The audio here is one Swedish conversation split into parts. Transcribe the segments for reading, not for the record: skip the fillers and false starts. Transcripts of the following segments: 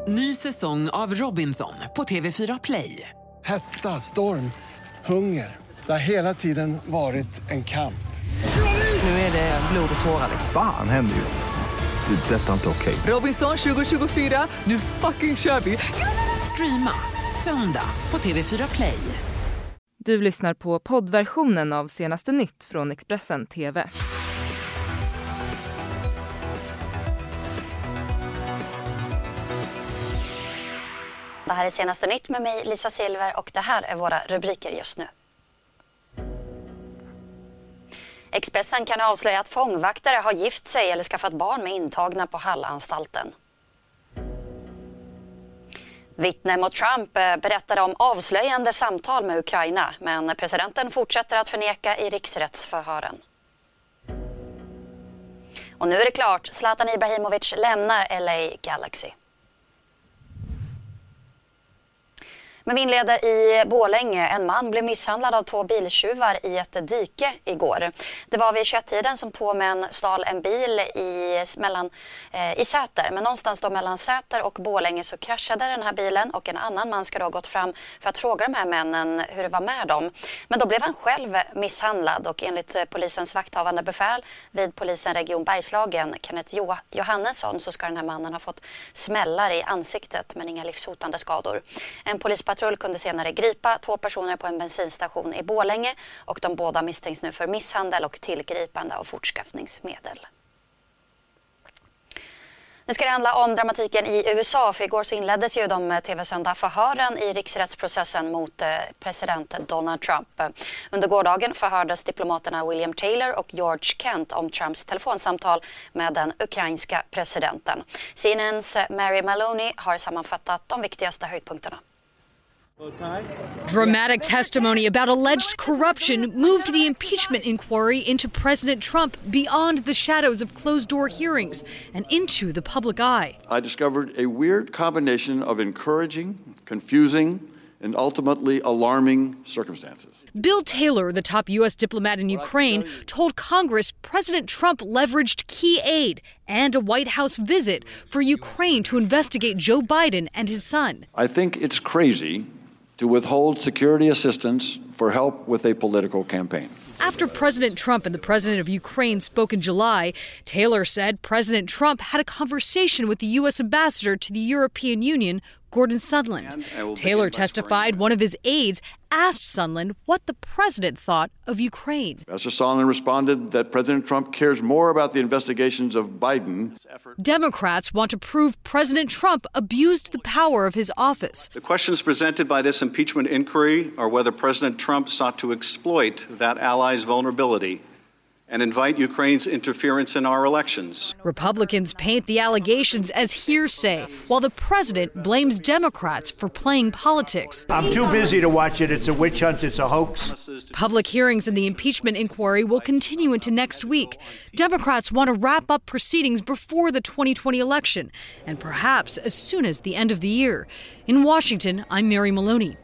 Ny säsong av Robinson på TV4 Play. Hetta, storm, hunger. Det har hela tiden varit en kamp. Nu är det blod och tårar. Fan händer just nu. Det. Detta är inte okej. Robinson 2024, nu fucking kör vi. Streama söndag på TV4 Play. Du lyssnar på poddversionen av Senaste Nytt från Expressen TV. Det här är Senaste Nytt med mig, Lisa Silver, och det här är våra rubriker just nu. Expressen kan avslöja att fångvaktare har gift sig eller skaffat barn med intagna på Hallanstalten. Vittne mot Trump berättade om avslöjande samtal med Ukraina, men presidenten fortsätter att förneka i riksrättsförhören. Och nu är det klart, Zlatan Ibrahimovic lämnar LA Galaxy. Men vi inleder i Borlänge. En man blev misshandlad av 2 biltjuvar i ett dike igår. Det var vid 21-tiden som 2 män stal en bil i Säter. Men någonstans då mellan Säter och Borlänge så kraschade den här bilen. Och en annan man ska då ha gått fram för att fråga de här männen hur det var med dem. Men då blev han själv misshandlad. Och enligt polisens vakthavande befäl vid polisen Region Bergslagen, Kenneth Johannesson, så ska den här mannen ha fått smällar i ansiktet men inga livshotande skador. En polispatrull kunde senare gripa 2 personer på en bensinstation i Borlänge och de båda misstänks nu för misshandel och tillgripande av fortskaffningsmedel. Nu ska det handla om dramatiken i USA, för igår så inleddes ju de tv-sända förhören i riksrättsprocessen mot president Donald Trump. Under gårdagen förhördes diplomaterna William Taylor och George Kent om Trumps telefonsamtal med den ukrainska presidenten. CNNs Mary Maloney har sammanfattat de viktigaste höjdpunkterna. Dramatic testimony about alleged corruption moved the impeachment inquiry into President Trump beyond the shadows of closed-door hearings and into the public eye. I discovered a weird combination of encouraging, confusing, and ultimately alarming circumstances. Bill Taylor, the top U.S. diplomat in Ukraine, told Congress President Trump leveraged key aid and a White House visit for Ukraine to investigate Joe Biden and his son. I think it's crazy to withhold security assistance for help with a political campaign. After President Trump and the president of Ukraine spoke in July, Taylor said President Trump had a conversation with the U.S. ambassador to the European Union, Gordon Sondland. Taylor testified one of his aides asked Sondland what the president thought of Ukraine. Ambassador Sondland responded that President Trump cares more about the investigations of Biden. Democrats want to prove President Trump abused the power of his office. The questions presented by this impeachment inquiry are whether President Trump sought to exploit that ally's vulnerability and invite Ukraine's interference in our elections. Republicans paint the allegations as hearsay, while the president blames Democrats for playing politics. I'm too busy to watch it. It's a witch hunt. It's a hoax. Public hearings in the impeachment inquiry will continue into next week. Democrats want to wrap up proceedings before the 2020 election, and perhaps as soon as the end of the year. In Washington, I'm Mary Maloney.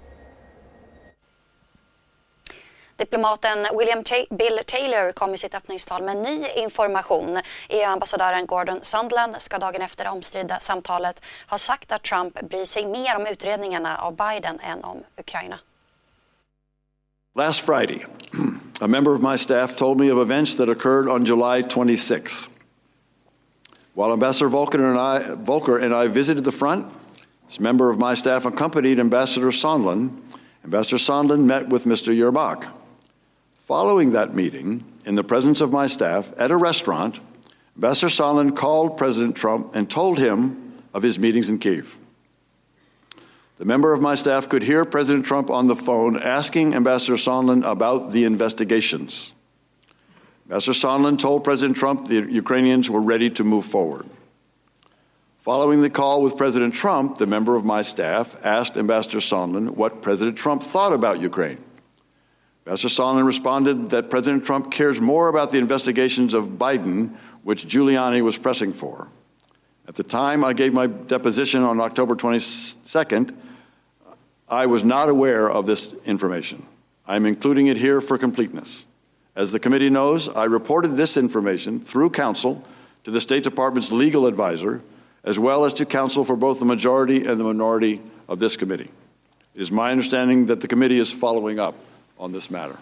Diplomaten Bill Taylor kom i sitt öppningstal med ny information. EU-ambassadören Gordon Sondland ska dagen efter det omstridda samtalet ha sagt att Trump bryr sig mer om utredningarna av Biden än om Ukraina. Last Friday, a member of my staff told me of events that occurred on July 26th. While Ambassador Volker and I visited the front, this member of my staff accompanied Ambassador Sondland. Ambassador Sondland met with Mr. Yermak. Following that meeting, in the presence of my staff at a restaurant, Ambassador Sondland called President Trump and told him of his meetings in Kyiv. The member of my staff could hear President Trump on the phone asking Ambassador Sondland about the investigations. Ambassador Sondland told President Trump the Ukrainians were ready to move forward. Following the call with President Trump, the member of my staff asked Ambassador Sondland what President Trump thought about Ukraine. Ambassador Sondland responded that President Trump cares more about the investigations of Biden, which Giuliani was pressing for. At the time I gave my deposition on October 22nd, I was not aware of this information. I'm including it here for completeness. As the committee knows, I reported this information through counsel to the State Department's legal advisor as well as to counsel for both the majority and the minority of this committee. It is my understanding that the committee is following up on this matter.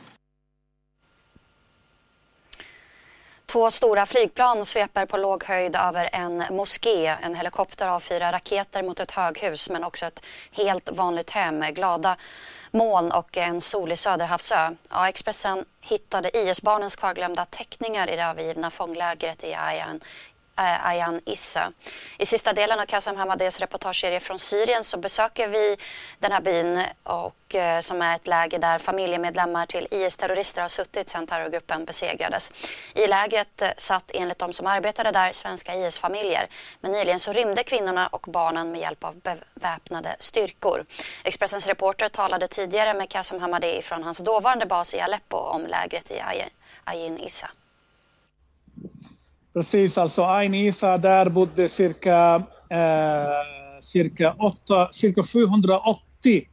2 stora flygplan sveper på låg höjd över en moské. En helikopter avfyrar raketer mot ett höghus men också ett helt vanligt hem med glada moln och en solig Söderhavsö. Ja, Expressen hittade IS-barnens kvarglömda teckningar i det övergivna fånglägret i Ayan Issa. I sista delen av Kassem Hamadehs reportageserie från Syrien så besöker vi den här byn och som är ett läger där familjemedlemmar till IS-terrorister har suttit sedan terrorgruppen besegrades. I lägret satt enligt de som arbetade där svenska IS-familjer. Men nyligen så rymde kvinnorna och barnen med hjälp av beväpnade styrkor. Expressens reporter talade tidigare med Kassem Hamadeh från hans dåvarande bas i Aleppo om lägret i Ayan Issa. Precis, alltså Ayn Issa, där bodde cirka 780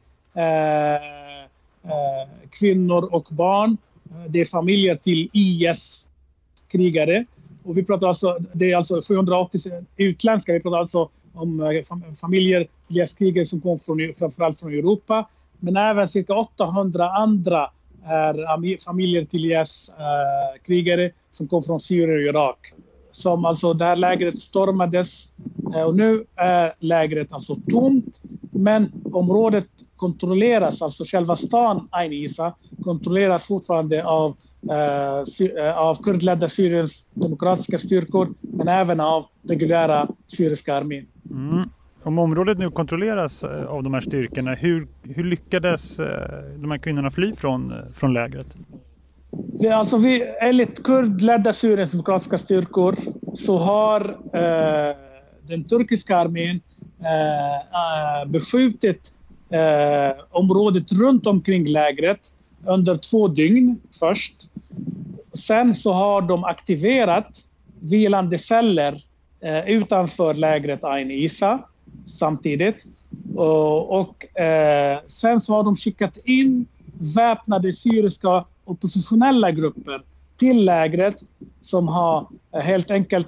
kvinnor och barn. Det är familjer till IS-krigare. Och vi pratar alltså, det är alltså 780 utländska, vi pratar alltså om familjer till IS-krigare som kom framförallt från Europa. Men även cirka 800 andra är familjer till IS-krigare som kom från Syrien och Irak. Som alltså det här lägret stormades och nu är lägret alltså tomt, men området kontrolleras, alltså själva stan Ayn Issa kontrolleras fortfarande av kurdledda Syriens demokratiska styrkor men även av reguljära syriska armén. Om området nu kontrolleras av de här styrkorna, hur lyckades de här kvinnorna fly från lägret? Alltså enligt kurdledda Syriens demokratiska styrkor så har den turkiska armén beskjutit området runt omkring lägret under 2 dygn först. Sen så har de aktiverat vilande celler utanför lägret Ayn Issa samtidigt. Och sen så har de skickat in väpnade syriska oppositionella grupper till lägret som har helt enkelt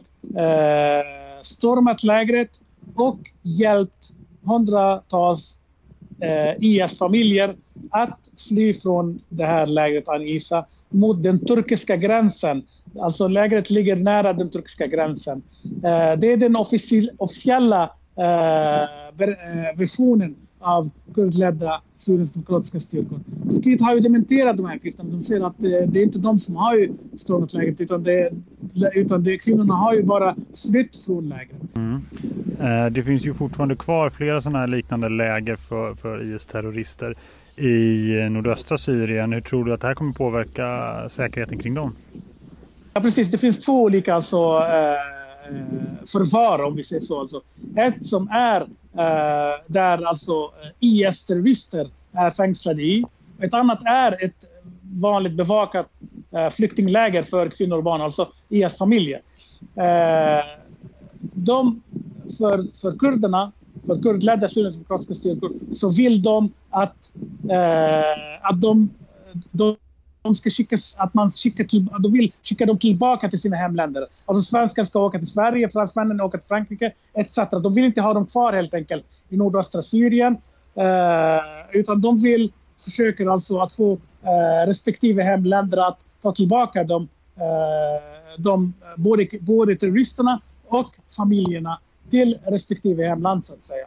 stormat lägret och hjälpt hundratals IS-familjer att fly från det här lägret Ayn Issa mot den turkiska gränsen. Alltså lägret ligger nära den turkiska gränsen. Det är den officiella versionen av kurdledda Syriens demokratiska styrkor. Turkiet har ju dementerat de här uppgifterna. De säger att det är inte de som har ju stormat lägret utan kvinnorna har ju bara flytt från lägret. Det finns ju fortfarande kvar flera sådana här liknande läger för IS-terrorister i nordöstra Syrien. Hur tror du att det här kommer påverka säkerheten kring dem? Ja, precis. Det finns 2 olika alltså förvar, om vi säger så. Alltså. Ett som är där alltså IS-terrorister är fängslade i. Ett annat är ett vanligt bevakat flyktingläger för kvinnor och barn, alltså IS-familjer. För kurderna, för kurdledda Syriens demokratiska styrkor, så vill de att de ska skickas, att man de vill skicka dem tillbaka till sina hemländer. Alltså svenskar ska åka till Sverige, fransmännen åka till Frankrike etc. De vill inte ha dem kvar helt enkelt i nordöstra Syrien, utan de vill försöker alltså att få respektive hemländer att ta tillbaka både terroristerna och familjerna till respektive hemland så att säga.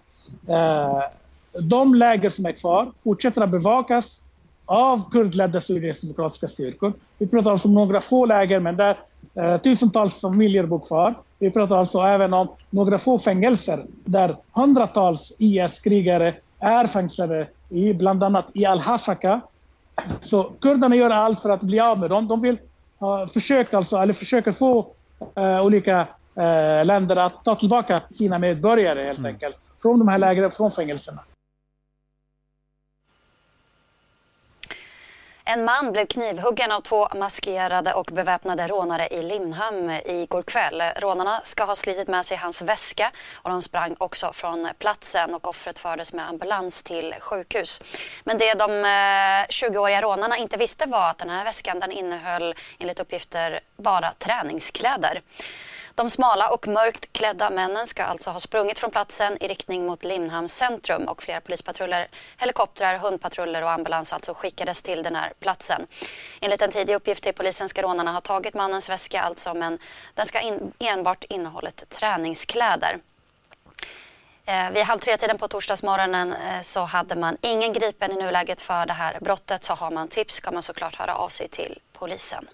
De läger som är kvar fortsätter att bevakas av kurdledda Syriens demokratiska styrkor. Vi pratar alltså om några få läger, men där tusentals familjer bor kvar. Vi pratar alltså även om några få fängelser där hundratals IS-krigare är fängslade i, bland annat i Al-Hasaka. Så kurderna gör allt för att bli av med dem. De vill försöker få olika länder att ta tillbaka sina medborgare helt enkelt från de här lägren, från fängelserna. En man blev knivhuggen av 2 maskerade och beväpnade rånare i Limhamn igår kväll. Rånarna ska ha slitit med sig hans väska och de sprang också från platsen och offret fördes med ambulans till sjukhus. Men det de 20-åriga rånarna inte visste var att den här väskan den innehöll enligt uppgifter bara träningskläder. De smala och mörkt klädda männen ska alltså ha sprungit från platsen i riktning mot Limhamns centrum och flera polispatruller, helikoptrar, hundpatruller och ambulans alltså skickades till den här platsen. Enligt en tidig uppgift till polisen ska rånarna ha tagit mannens väska alltså, men den ska enbart innehållit träningskläder. Vid 2:30 på torsdagsmorgonen så hade man ingen gripen i nuläget för det här brottet. Så har man tips ska man såklart höra av sig till polisen.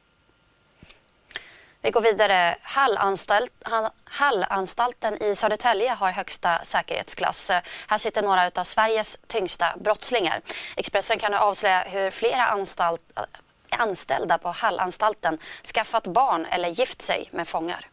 Vi går vidare. Hallanstalten i Södertälje har högsta säkerhetsklass. Här sitter några av Sveriges tyngsta brottslingar. Expressen kan nu avslöja hur flera anställda på Hallanstalten skaffat barn eller gift sig med fångar.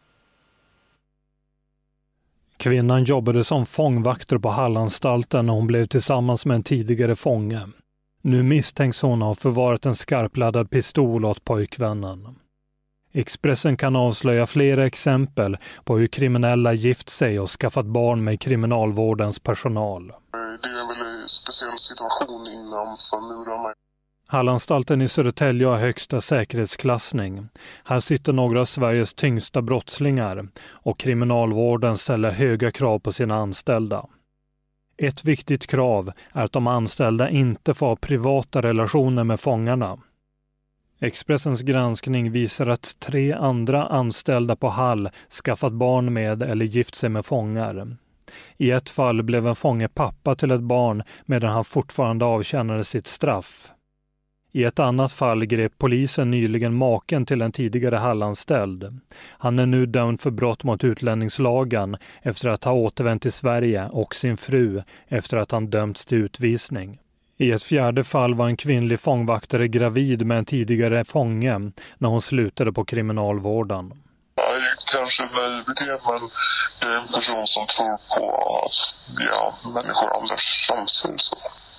Kvinnan jobbade som fångvakter på Hallanstalten när hon blev tillsammans med en tidigare fånge. Nu misstänks hon ha förvarat en skarpladdad pistol åt pojkvännen. Expressen kan avslöja flera exempel på hur kriminella gift sig och skaffat barn med kriminalvårdens personal. Det är en väldigt speciell situation innanför murarna. Hallanstalten i Södertälje har högsta säkerhetsklassning. Här sitter några av Sveriges tyngsta brottslingar och kriminalvården ställer höga krav på sina anställda. Ett viktigt krav är att de anställda inte får ha privata relationer med fångarna. Expressens granskning visar att 3 andra anställda på Hall skaffat barn med eller gift sig med fångar. I ett fall blev en fånge pappa till ett barn medan han fortfarande avtjänade sitt straff. I ett annat fall grep polisen nyligen maken till en tidigare Hallanställd. Han är nu dömd för brott mot utlänningslagen efter att ha återvänt till Sverige och sin fru efter att han dömts till utvisning. I ett fjärde fall var en kvinnlig fångvaktare gravid med en tidigare fånge när hon slutade på kriminalvården. Jag är kanske naiv i det, men det är en person som tror på att människor aldrig chanser så.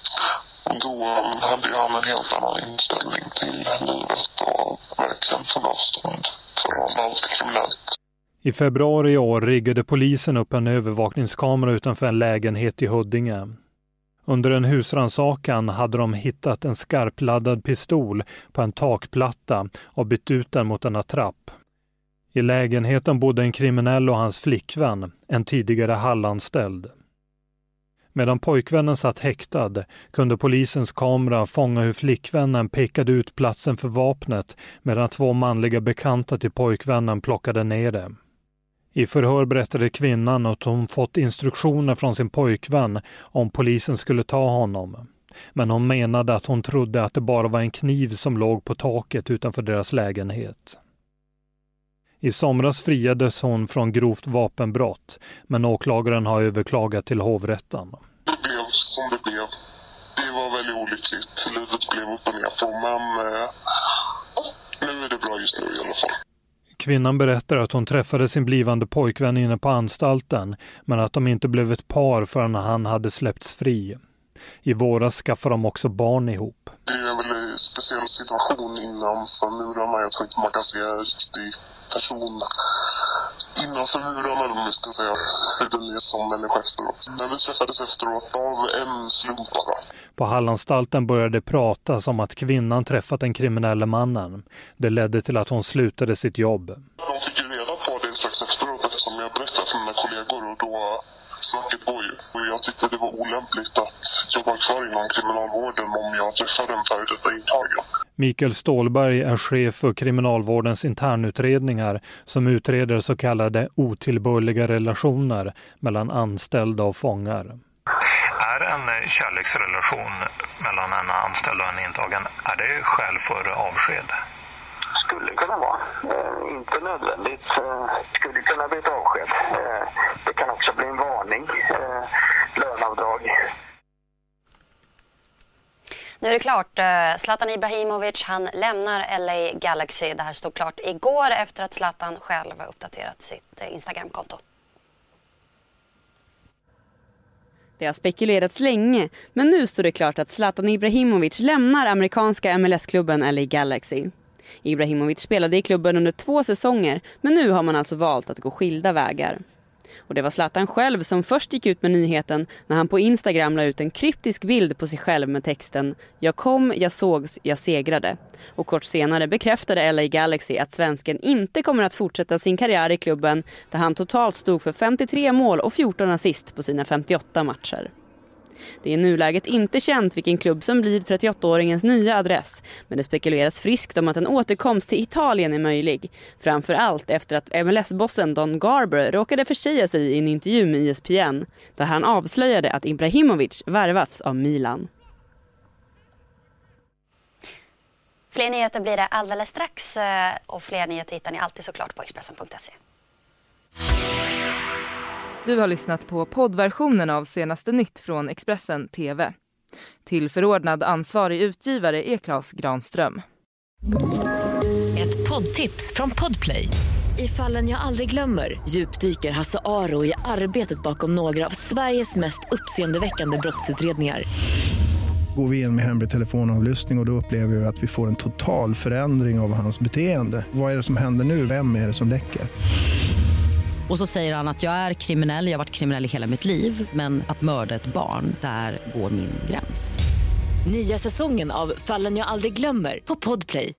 Då hade han en helt annan inställning till livet och verkligen tog avstånd från allt kriminellt. I februari i år riggade polisen upp en övervakningskamera utanför en lägenhet i Huddinge. Under en husrannsakan hade de hittat en skarpladdad pistol på en takplatta och bytt ut den mot en attrapp. I lägenheten bodde en kriminell och hans flickvän, en tidigare Hallanställd. Medan pojkvännen satt häktad kunde polisens kamera fånga hur flickvännen pekade ut platsen för vapnet medan 2 manliga bekanta till pojkvännen plockade ner det. I förhör berättade kvinnan att hon fått instruktioner från sin pojkvän om polisen skulle ta honom. Men hon menade att hon trodde att det bara var en kniv som låg på taket utanför deras lägenhet. I somras friades hon från grovt vapenbrott, men åklagaren har överklagat till hovrätten. Det blev som det blev. Det var väldigt olyckligt. Livet blev upp och ner på, men nu är det bra just nu i alla fall. Kvinnan berättar att hon träffade sin blivande pojkvän inne på anstalten, men att de inte blev ett par förrän han hade släppts fri. I våras skaffade de också barn ihop. Det är en väldigt speciell situation innanför murarna. Jag tror inte man kan se en riktig person innanför murarna, om man ska säga. Den är som människa efteråt. Men vi träffades efteråt av en slump bara. På Hallanstalten började det pratas om att kvinnan träffat den kriminella mannen. Det ledde till att hon slutade sitt jobb. De fick ju reda på det strax efteråt eftersom jag berättade för mina kollegor och då snacket går ju. Och jag tyckte det var olämpligt att jobba kvar inom kriminalvården om jag träffade en före detta intagen. Mikael Stålberg är chef för kriminalvårdens internutredningar som utreder så kallade otillbörliga relationer mellan anställda och fångar. Är en kärleksrelation mellan en anställd och en intagen, är det skäl för avsked? Skulle kunna vara. Inte nödvändigt. Skulle kunna bli ett avsked. Det kan också bli en varning. Löneavdrag. Nu är det klart. Zlatan Ibrahimovic, han lämnar LA Galaxy. Det här stod klart igår efter att Zlatan själv har uppdaterat sitt Instagram-konto. Det har spekulerats länge, men nu står det klart att Zlatan Ibrahimovic lämnar amerikanska MLS-klubben LA Galaxy. Ibrahimovic spelade i klubben under 2 säsonger, men nu har man alltså valt att gå skilda vägar. Och det var Zlatan själv som först gick ut med nyheten när han på Instagram la ut en kryptisk bild på sig själv med texten "Jag kom, jag sågs, jag segrade". Och kort senare bekräftade LA Galaxy att svensken inte kommer att fortsätta sin karriär i klubben, där han totalt stod för 53 mål och 14 assist på sina 58 matcher. Det är i nuläget inte känt vilken klubb som blir 38-åringens nya adress, men det spekuleras friskt om att en återkomst till Italien är möjlig. Framförallt efter att MLS-bossen Don Garber råkade försäga sig i en intervju med ESPN, där han avslöjade att Ibrahimovic värvats av Milan. Fler nyheter blir det alldeles strax, och fler nyheter hittar ni alltid såklart på Expressen.se. Du har lyssnat på poddversionen av Senaste nytt från Expressen TV. Till förordnad ansvarig utgivare är Claes Granström. Ett poddtips från Podplay. I Fallen jag aldrig glömmer djupdyker Hasse Aro i arbetet bakom några av Sveriges mest uppseendeväckande brottsutredningar. Går vi in med hemlig telefonavlyssning och då upplever vi att vi får en total förändring av hans beteende. Vad är det som händer nu? Vem är det som läcker? Och så säger han att jag är kriminell, jag har varit kriminell i hela mitt liv. Men att mörda ett barn, där går min gräns. Nya säsongen av Fallen jag aldrig glömmer på Podplay.